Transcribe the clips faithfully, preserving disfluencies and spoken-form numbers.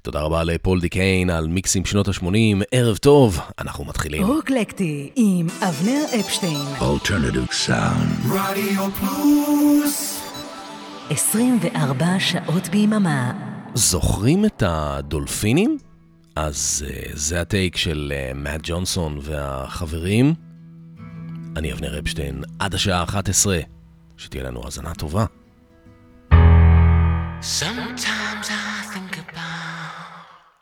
תודה רבה לפול דיקיין על מיקסים שנות ה-שמונים. ערב טוב, אנחנו מתחילים. רוקלקטי עם אבנר אפשטיין. Alternative Sound. רדיו פלוס. עשרים וארבע שעות ביממה. זוכרים את הדולפינים? אז uh, זה הטייק של uh, מאט ג'ונסון והחברים. אני אבנר אפשטיין עד השעה אחת עשרה. שתהיה לנו הזנה טובה. Sometimes I think about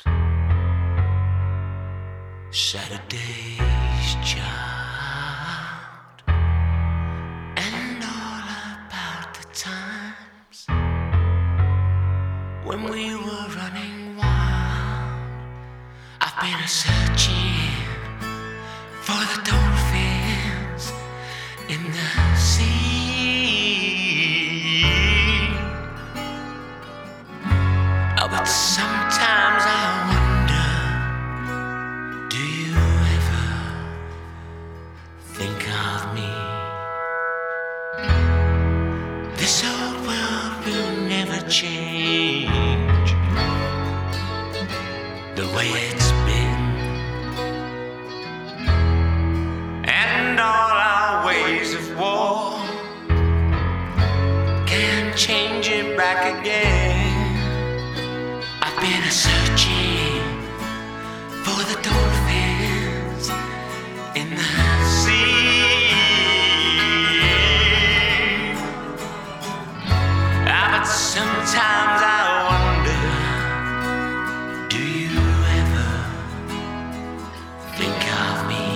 Saturday's child and all about the times when we were running wild. I've been searching for the dolphins in the sea. Oh, but sometimes I wonder, do you ever think of me? This old world will never change the way it's been, and all our ways of war can't change it back again. I've been searching for the dolphins in the sea. Ah, but sometimes I wonder, do you ever think of me?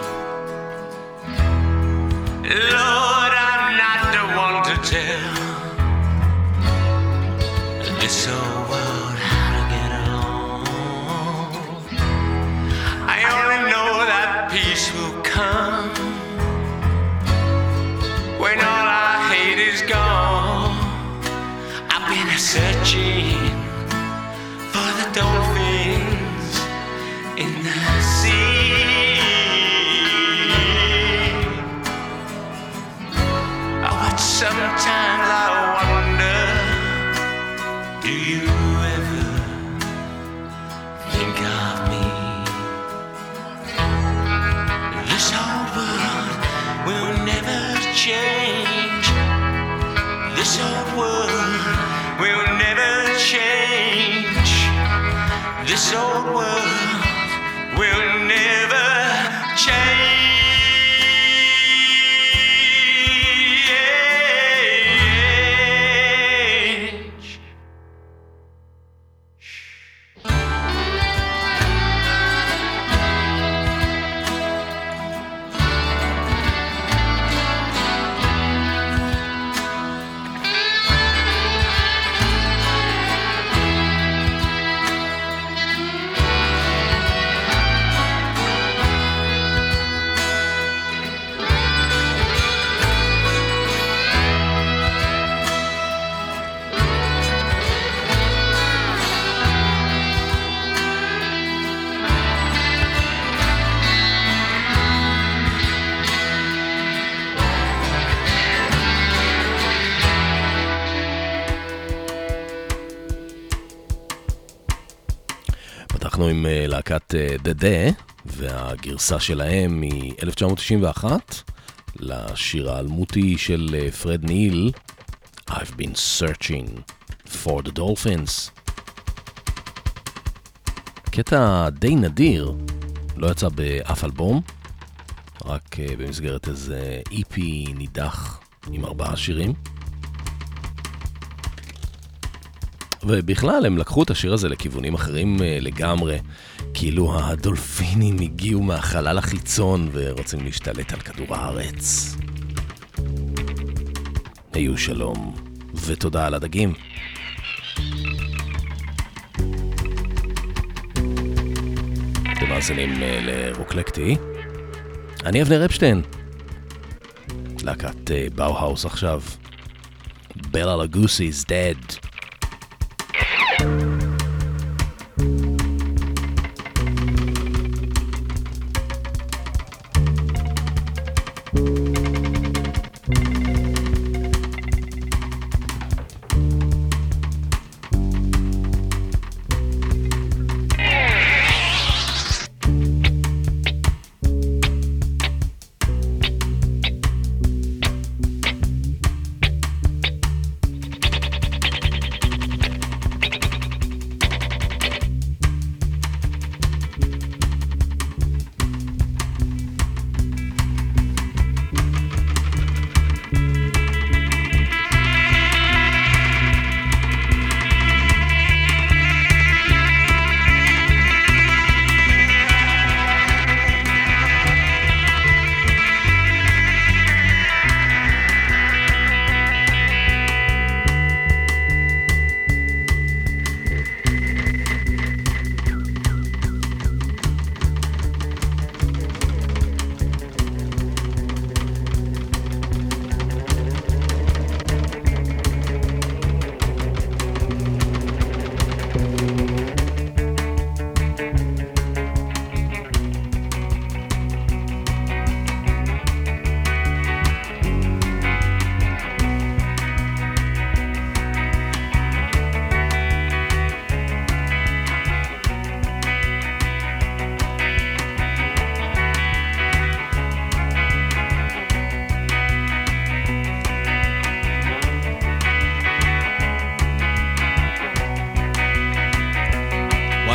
Lord, I'm not the one to tell this old world how to get along. I only know that peace will come when all our hate is gone. I've been searching for the dolphins in the sea. Oh, but sometimes I wonder, do you ever think of me? This old world will never change. This old world will never change. This old world will never change. אנחנו עם להקת The Day, והגרסה שלהם מ-אלף תשע מאות תשעים ואחת, לשיר האלמותי של פרד ניל, I've been searching for the dolphins. קטע די נדיר, לא יצא באף אלבום, רק במסגרת איזה E P נידח עם ארבעה שירים. ובכלל הם לקחו את השיר הזה לכיוונים אחרים לגמרי, כאילו הדולפינים הגיעו מהחלל החיצון ורוצים להשתלט על כדור הארץ. היו שלום ותודה על הדגים. אתם מאזינים לרוקלקטי. אני אבנר אפשטיין. להקת באו-האוס עכשיו. Bela Lugosi is dead.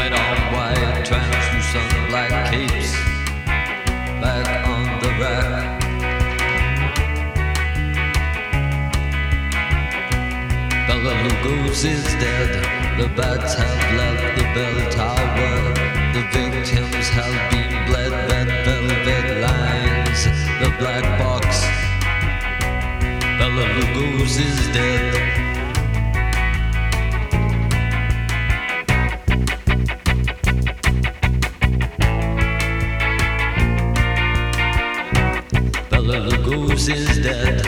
white on white, translucent black capes, back on the rack. Bela Lugos is dead, the bats have left the bell tower, the victims have been bled, red velvet lines, the black box. Bela Lugos is dead. Bela Lugos is dead.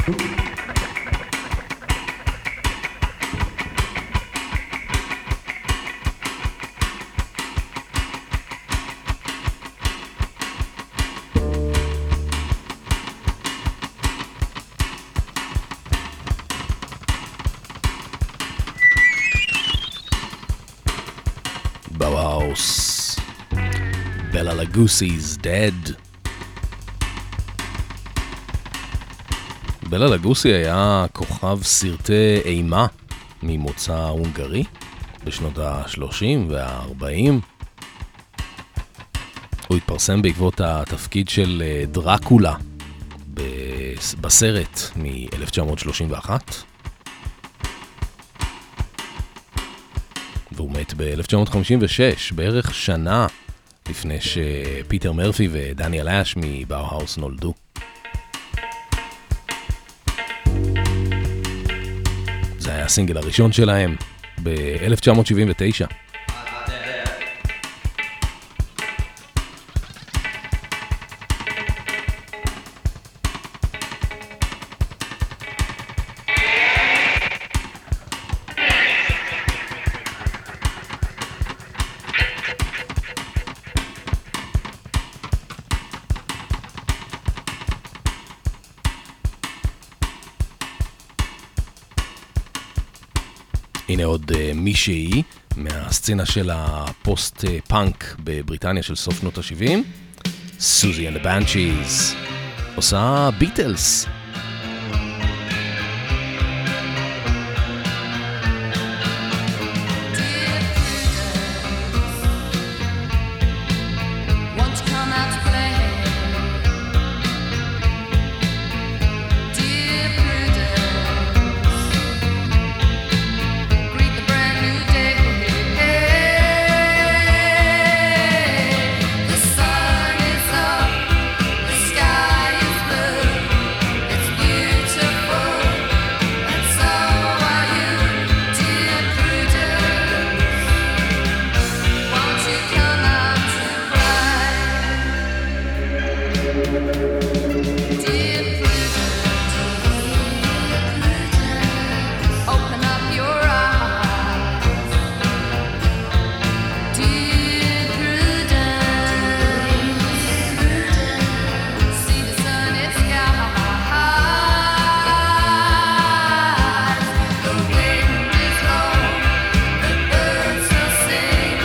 Bauhaus, Bela Lugosi's Dead. בלה לגוסי היה כוכב סרטי אימה ממוצא הונגרי בשנות ה-שלושים וה-ארבעים. הוא התפרסם בעקבות התפקיד של דרקולה בסרט מ-אלף תשע מאות שלושים ואחת. והוא מת ב-אלף תשע מאות חמישים ושש, בערך שנה לפני שפיטר מרפי ודניאל אש מבאוהאוס נולדו. זה היה הסינגל הראשון שלהם ב-אלף תשע מאות שבעים ותשע. הנה עוד uh, מישהי מהסצנה של הפוסט-פאנק בבריטניה של סוף שנות ה-שבעים, סוזי and the Banshees, עושה ביטלס.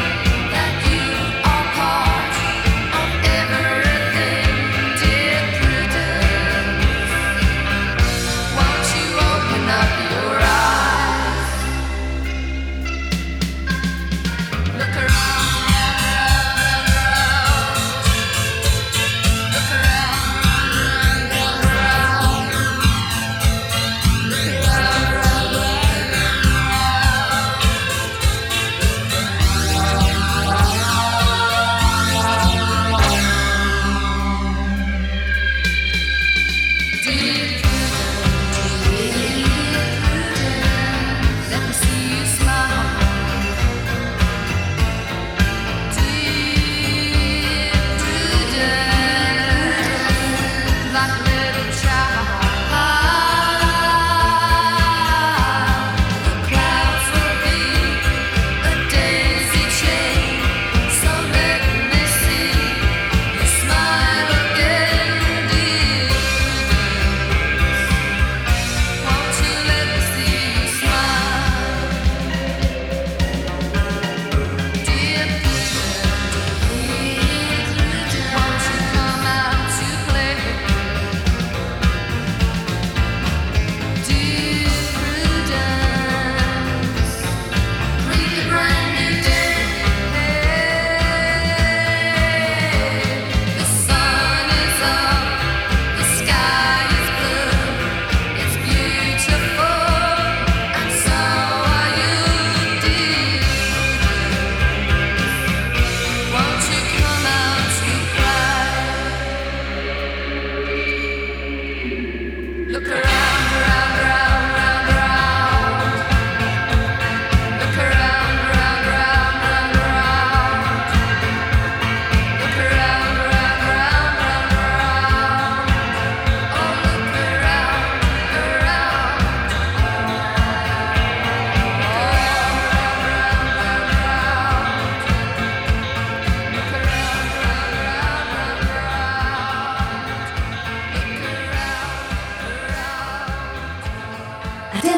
Dear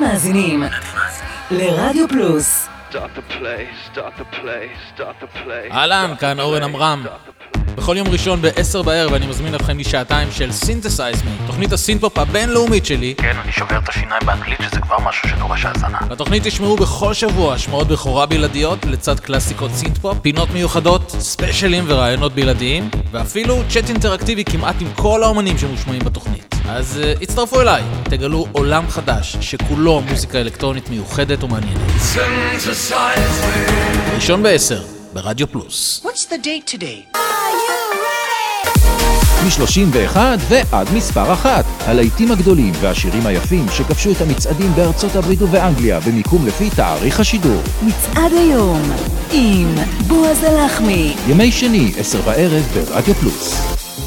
אתם מאזינים לרדיו פלוס. אהלן, כאן אורן אמרם. בכל יום ראשון ב-עשר בערב אני מזמין אתכם לשעתיים של Synthesize Me, תוכנית הסינפופ הבינלאומית שלי. כן, אני שובר את השיניים באנגלית שזה כבר משהו שדורש האזנה. בתוכנית תשמעו בכל שבוע השמעות בכורה בלעדיות לצד קלאסיקות סינתפופ, פינות מיוחדות, ספיישלים ורעיונות בלעדיים, ואפילו צ'אט אינטראקטיבי כמעט עם כל האומנים שמושמעים בתוכנית. אז uh, הצטרפו אליי, תגלו עולם חדש שכולו מוזיקה אלקטרונית מיוחדת ומעניינת. ראשון בעשר ברדיו פלוס. What's the date today? מ-שלושים ואחת ועד מספר אחת. הלהיטים הגדולים והשירים היפים שכבשו את המצעדים בארצות הברית ובאנגליה במיקום לפי תאריך השידור. מצעד היום עם בועז הלחמי. ימי שני, עשר בערב ברדיו פלוס.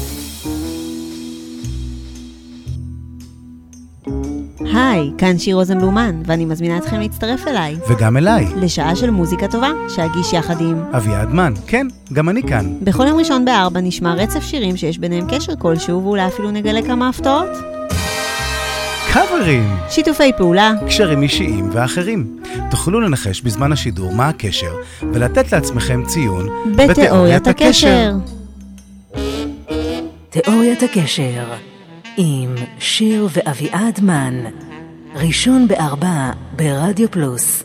היי, כאן שיר רוזנבלומן, ואני מזמינה אתכם להצטרף אליי. וגם אליי. לשעה של מוזיקה טובה, שאגיש יחד עם אביעד מן. כן, גם אני כאן. בכל יום ראשון בארבע נשמע רצף שירים שיש ביניהם קשר כלשהו, ואולי אפילו נגלה כמה הפתעות. קאברים. שיתופי פעולה. קשרים אישיים ואחרים. תוכלו לנחש בזמן השידור מה הקשר, ולתת לעצמכם ציון בתיאוריית הקשר. תיאוריית הקשר עם שיר ואביעד מן. ראשון בארבע ברדיו פלוס.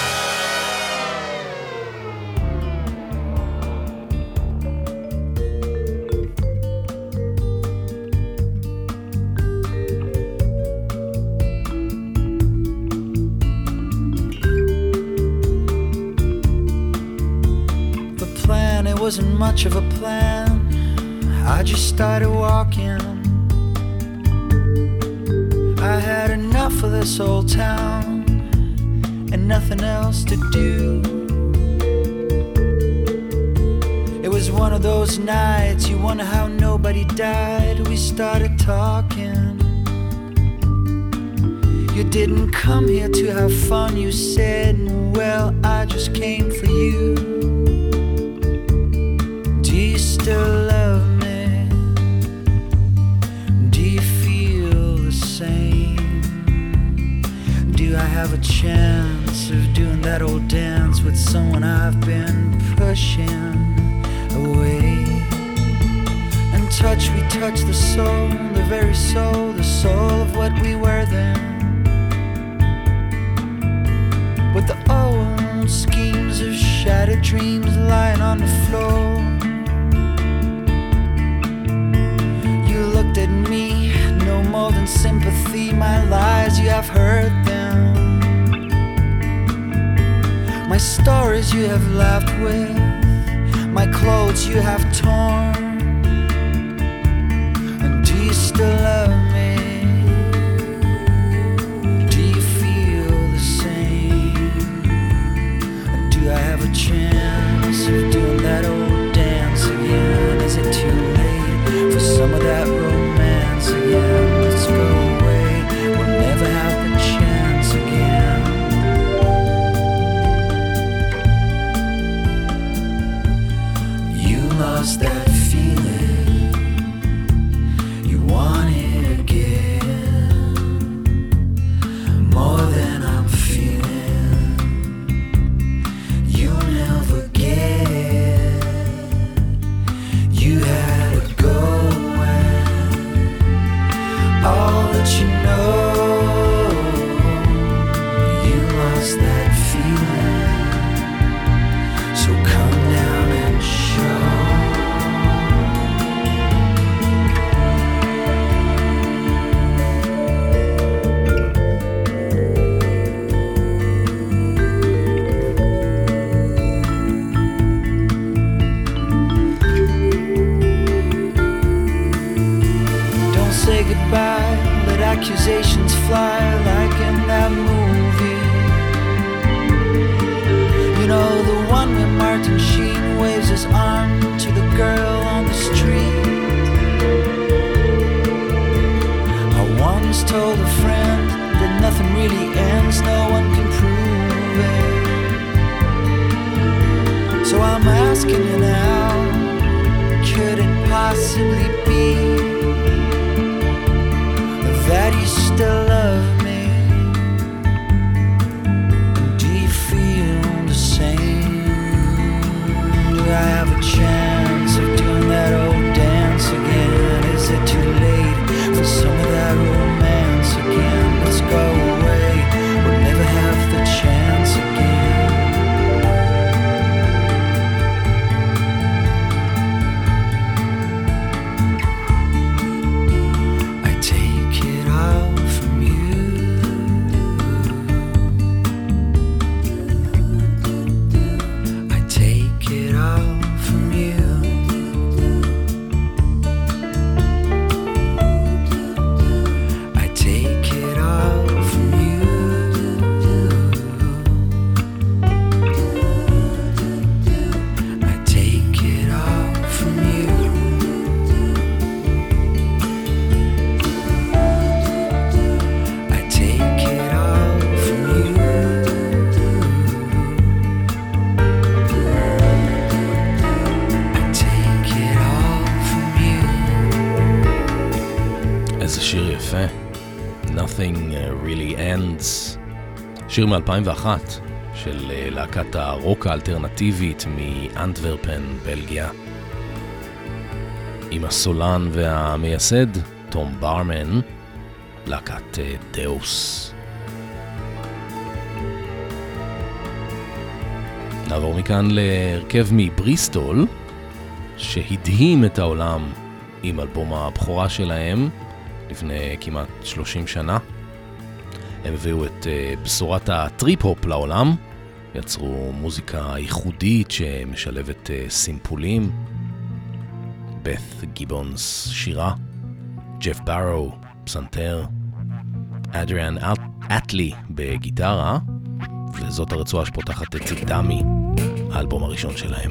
The plan, it wasn't much of a plan. I just started walking. I had enough of this old town and nothing else to do. It was one of those nights you wonder how nobody died. We started talking. You didn't come here to have fun, you said. Well, I just came for you. Do you still love me? Do you feel the same? Do I have a chance of doing that old dance with someone I've been pushing away? And touch, we touch the soul, the very soul, the soul of what we were then. With the old schemes of shattered dreams lying on the floor. You looked at me, no more than sympathy. My lies, you have heard them. My stories you have laughed with. My clothes you have torn. And do you still love me? Do you feel the same? And do I have a chance of doing that old dance again? Is it too late for some of that romance again? Let's go away, we'll never have the chance again. You lost that feeling, you want it again, more than I'm feeling. You never get, you had to go and all that you know. You lost that feeling, so come down and show. Don't say goodbye, let accusations fly like in that movie. You know, the one where Martin Sheen waves his arm to the girl on the street. I once told a friend that nothing really ends, no one can prove it. So I'm asking you now, could it possibly be that you still love me? איזה שיר יפה. Nothing Really Ends. שיר מ-אלפיים ואחת של להקת הרוק האלטרנטיבית מאנטוורפן, בלגיה. עם הסולן והמייסד, תום ברמן, להקת דאוס. נעבור מכאן להרכב מבריסטול, שהדהים את העולם עם אלבום הבכורה שלהם לפני כמעט שלושים שנה. הם הביאו את uh, בשורת הטריפ-הופ לעולם, יצרו מוזיקה ייחודית שמשלבת uh, סימפולים. בת גיבונס שירה, ג'ף ברו פסנתר, אדריאן אטלי בגיטרה, וזאת הרצועה שפותחת את דמי, האלבום הראשון שלהם.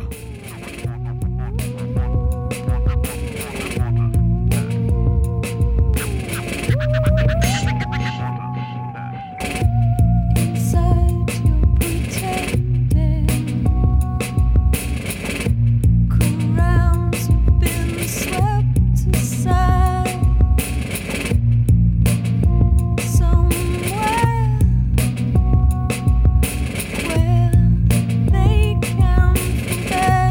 They can forget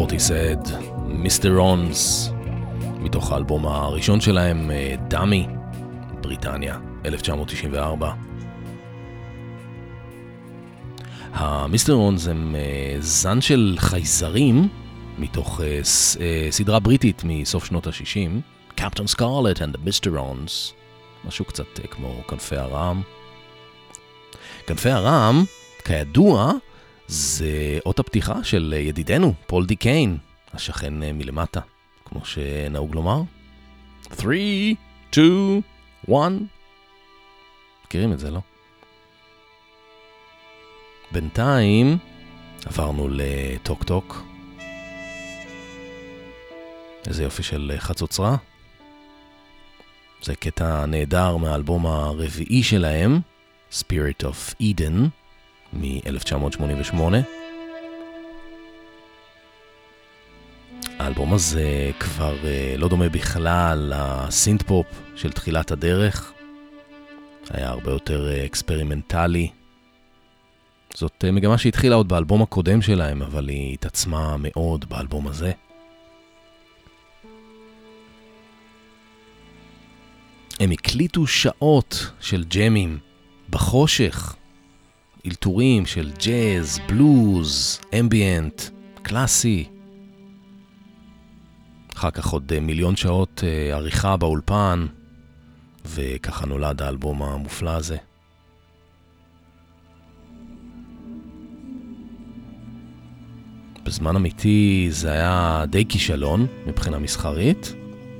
פורטיסד, מיסטר רונס, מתוך האלבום הראשון שלהם, דאמי, בריטניה, אלף תשע מאות תשעים וארבע. המיסטר רונס הם זן של חייזרים, מתוך סדרה בריטית מסוף שנות ה-שישים, Captain Scarlet and the מיסטר רונס, משהו קצת כמו כנפי הרעם. כנפי הרעם, כידוע, זה אות הפתיחה של ידידנו, פול די קיין, השכן מלמטה, כמו שנהוג לומר. three, two, one. מכירים את זה, לא? בינתיים עברנו לטוק טוק. איזה יופי של חצוצרה. זה קטע נהדר מהאלבום הרביעי שלהם, Spirit of Eden, מ-אלף תשע מאות שמונים ושמונה. האלבום הזה כבר לא דומה בכלל לסינט פופ של תחילת הדרך. היה הרבה יותר אקספרימנטלי. זאת מגמה שהתחילה עוד באלבום הקודם שלהם, אבל היא התעצמה מאוד באלבום הזה. הם הקליטו שעות של ג'מים בחושך, אלתורים של ג'אז, בלוז, אמביאנט, קלאסי. אחר כך עוד מיליון שעות עריכה באולפן, וככה נולד האלבום המופלא הזה. בזמן אמיתי זה היה די כישלון מבחינה מסחרית,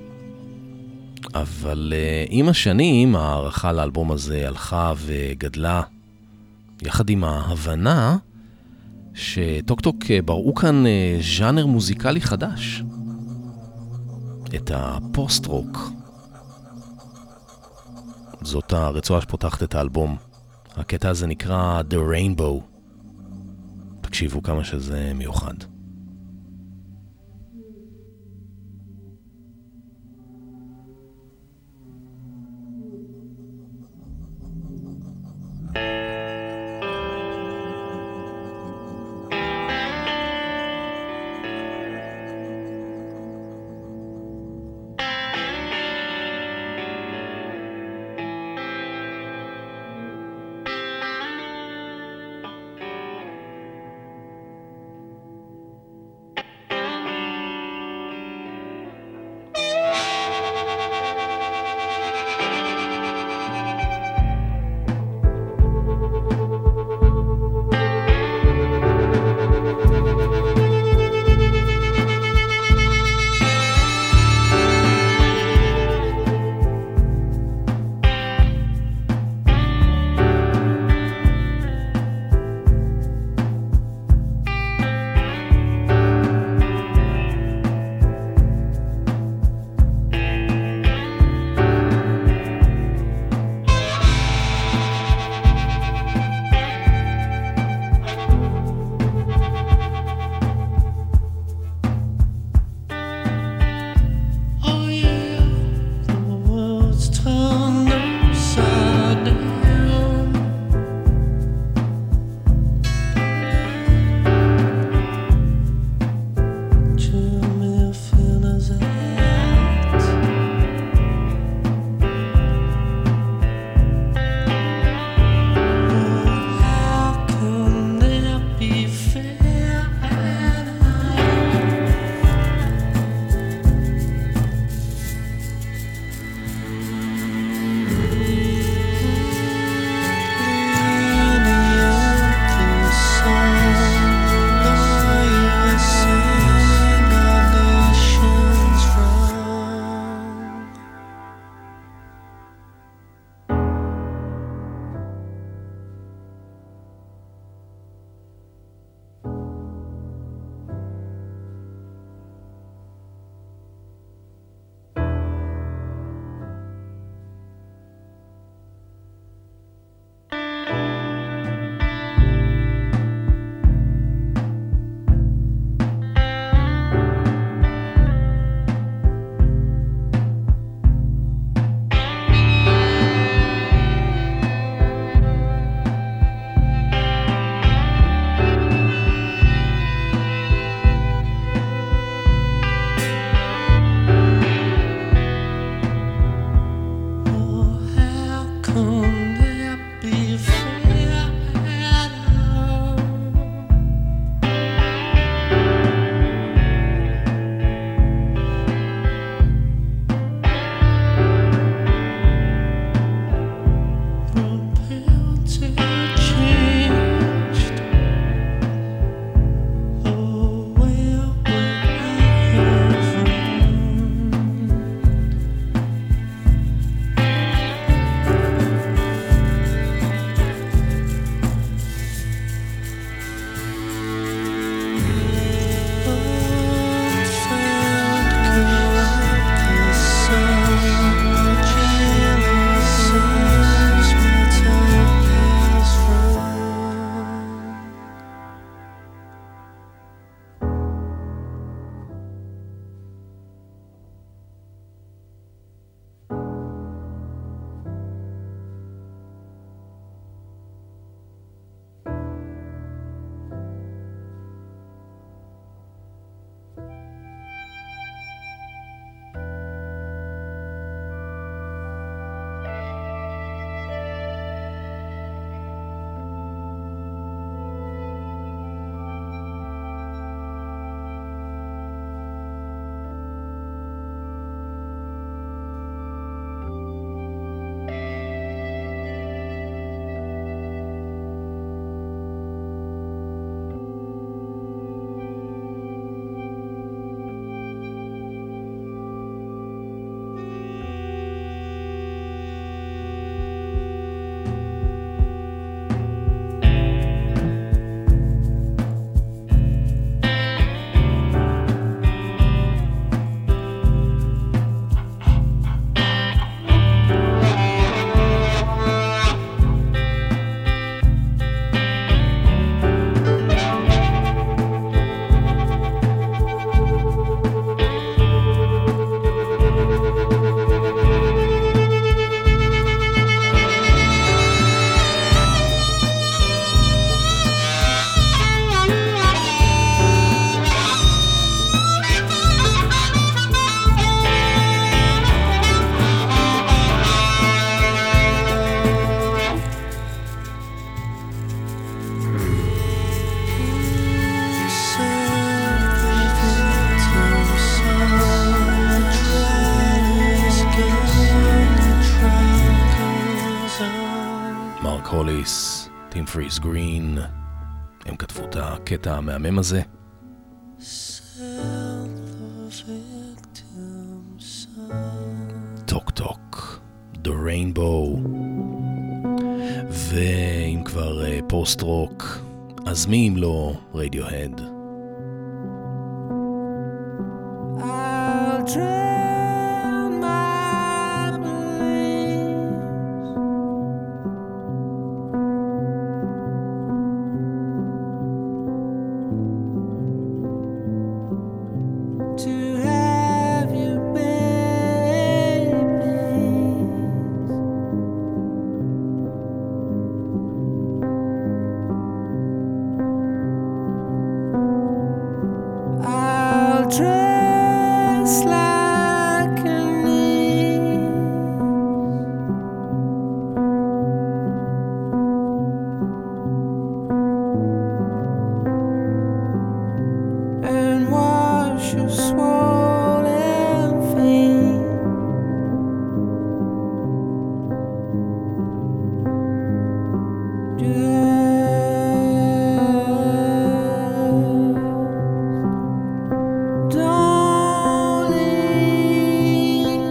אבל uh, עם השנים הערכה לאלבום הזה הלכה וגדלה, יחד עם ההבנה שטוק טוק בראו כאן uh, ז'אנר מוזיקלי חדש, את הפוסט-רוק. זאת הרצועה שפותחת את האלבום. הקטע הזה נקרא The Rainbow. תקשיבו כמה שזה מיוחד. טים פריס גרין, הם כתבו את הקטע המהמם הזה. טוק טוק, The Rainbow. ואם כבר פוסט רוק, אז מי אם לא רדיוהד? I'll drown my beliefs to have you, baby. I'll dress like a niece and wash your swollen feet. Just don't leave.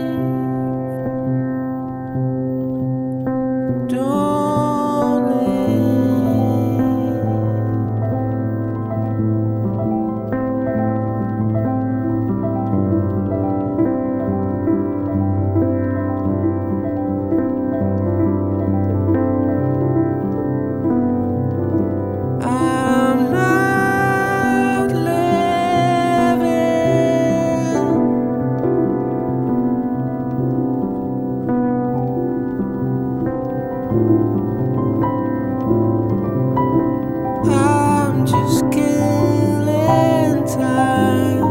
Don't leave. I'm not living. I'm just killing time.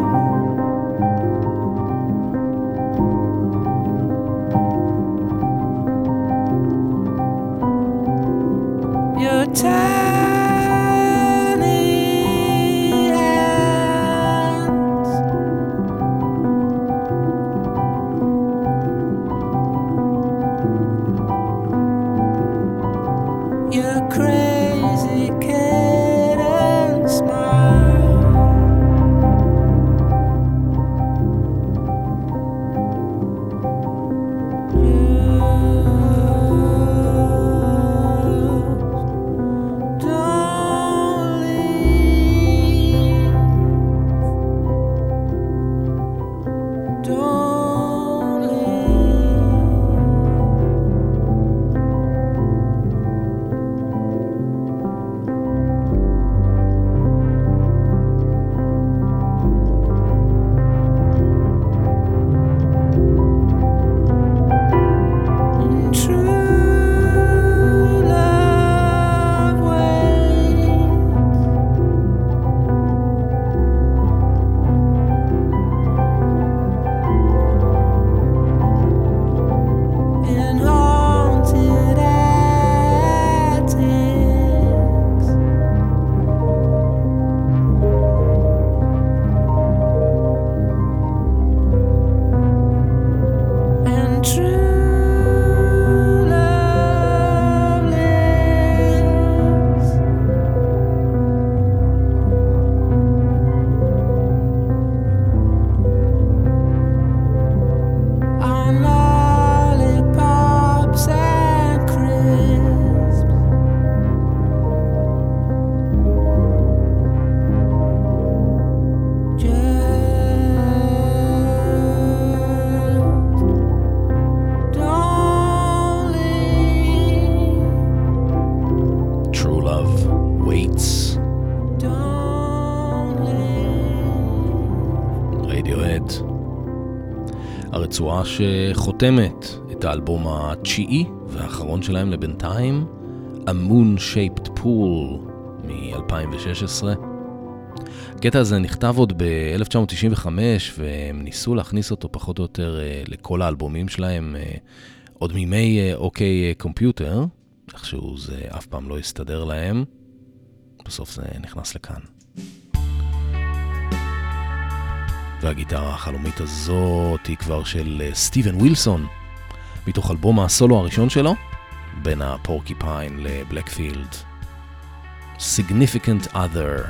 Your tiny hands your crazy kitten smile. Just don't leave. Don't leave. In true love waits. In haunted attics. And true love lives. On lollipops and crisps. Just don't leave. True Love Waits, Don't leave. רדיוהד. הרצועה שחותמת את האלבום התשיעי והאחרון שלהם לבינתיים, A Moon Shaped Pool מ-אלפיים ושש עשרה. הקטע הזה נכתב עוד ב-אלף תשע מאות תשעים וחמש, והם ניסו להכניס אותו פחות או יותר אה, לכל האלבומים שלהם, אה, עוד מימי אה, אוקיי קומפיוטר, איכשהו זה אף פעם לא הסתדר להם, בסוף זה נכנס לכאן. והגיטרה החלומית הזאת היא כבר של אה, סטיבן ווילסון, מתוך אלבום הסולו הראשון שלו, בין הפורקיפיין לבלקפילד. Significant Other.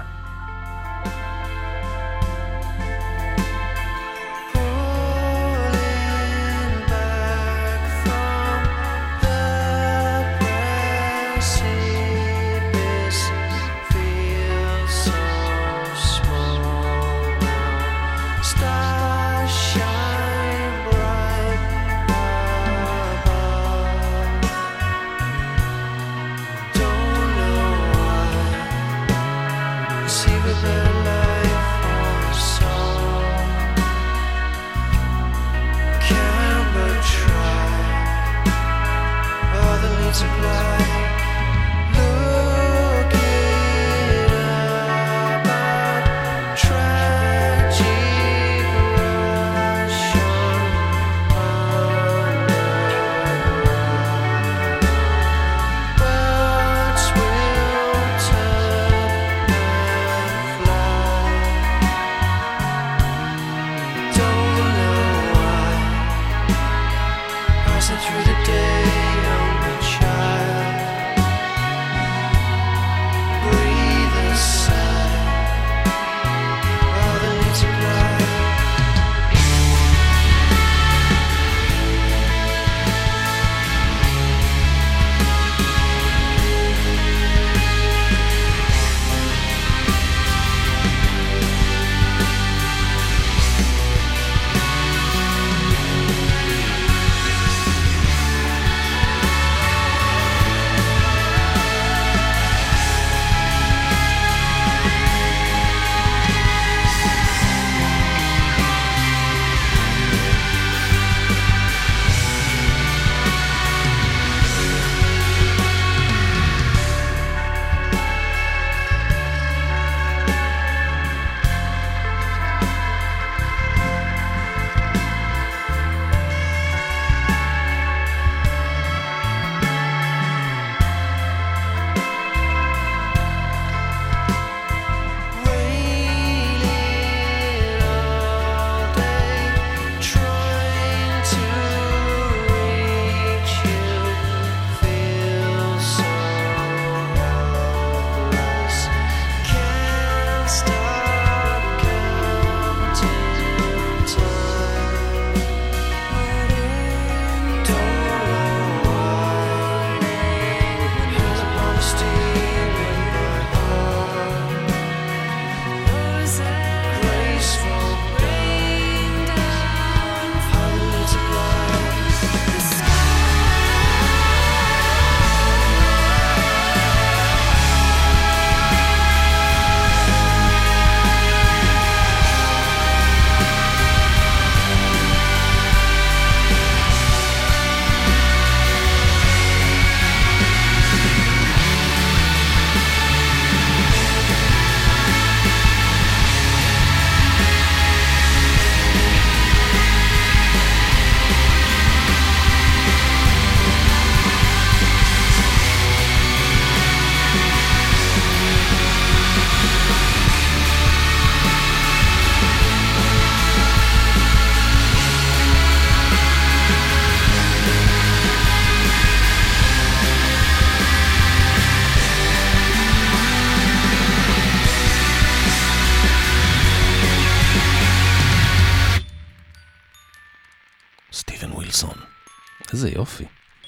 איזה יופי.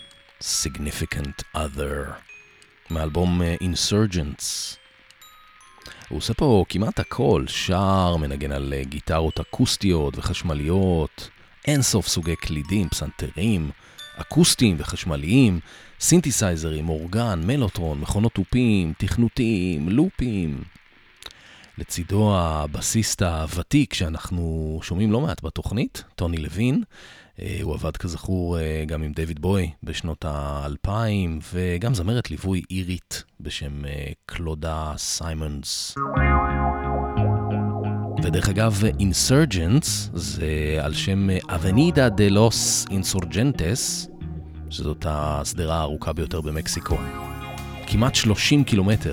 Significant Other, מאלבום Insurgents. הוא עושה פה כמעט הכל, שר, מנגן על גיטרות אקוסטיות וחשמליות, אין סוף סוגי קלידים, פסנתרים, אקוסטיים וחשמליים, סינתסייזרים, אורגן, מלוטרון, מכונות טופים, תכנותים, לופים. לצידו הבסיסט הוותיק שאנחנו שומעים לא מעט בתוכנית, טוני לוין. הוא עבד כזכור גם עם דיוויד בוי בשנות האלפיים, וגם זמרת ליווי אירית בשם קלודה סיימונס. ודרך אגב, Insurgents זה על שם Avenida de los Insurgentes, שזאת הסדרה הארוכה ביותר במקסיקו. כמעט שלושים קילומטר.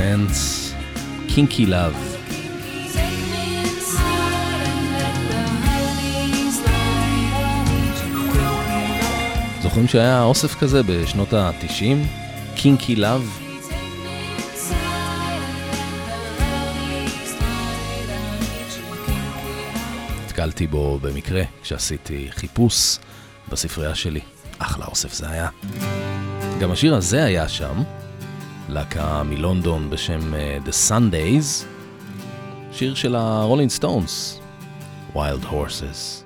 Dance, Kinky Love. זוכרים שהיה אוסף כזה בשנות ה-תשעים? Kinky Love? התקלתי בו במקרה כשעשיתי חיפוש בספרייה שלי. אחלה אוסף זה היה. גם השיר הזה היה שם, להקה מלונדון בשם uh, The Sundays, שיר של הרולינג סטונס, Wild Horses.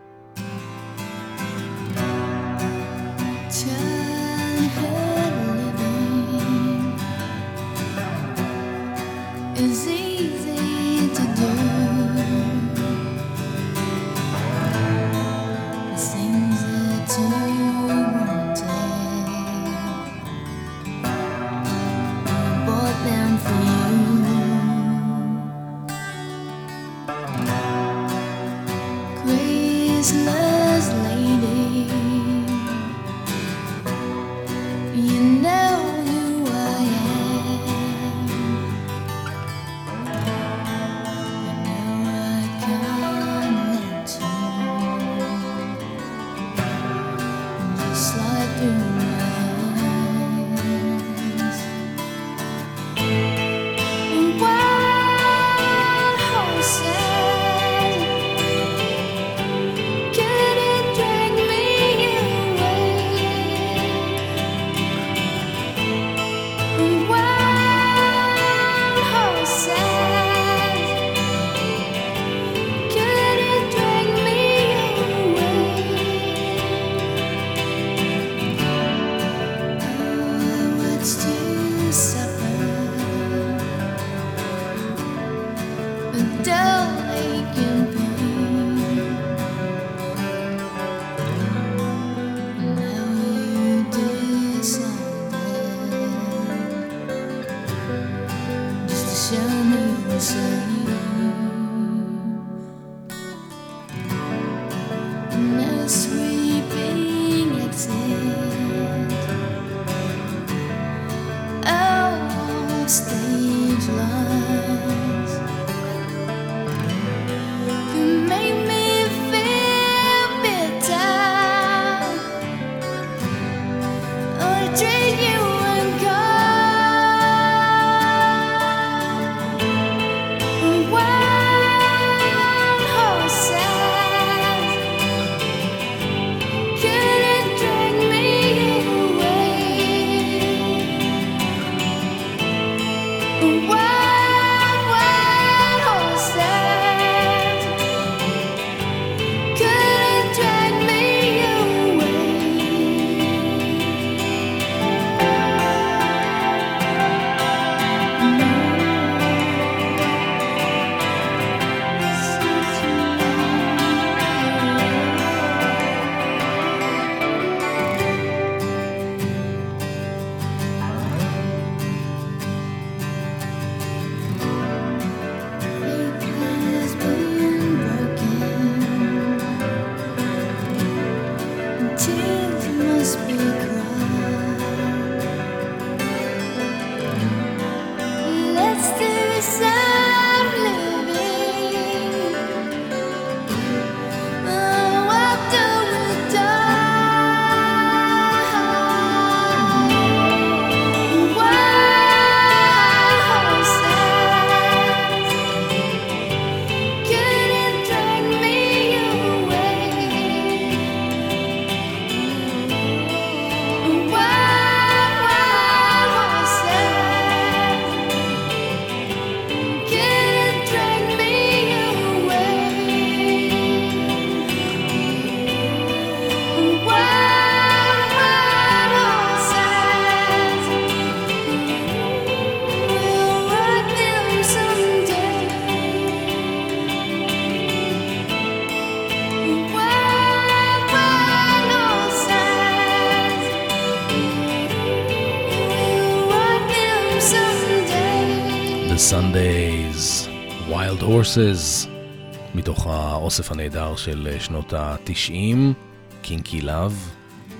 Sundays, Wild Horses, מתוך האוסף הנהדר של שנות ה-תשעים, Kinky Love.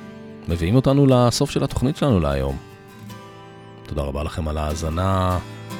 מביאים אותנו לסוף של התוכנית שלנו להיום. תודה רבה לכם על ההאזנה.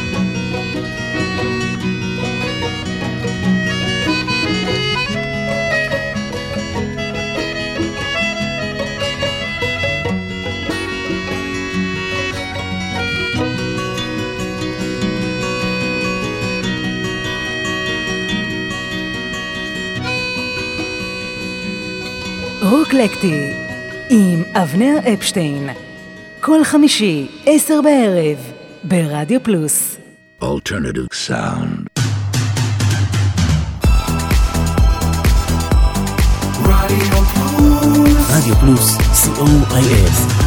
רוקלקטי עם אבנר אפשטיין, כל חמישי, עשר בערב, ברדיו פלוס. Alternative sound. רדיו פלוס. רדיו פלוס, סי או איי אס.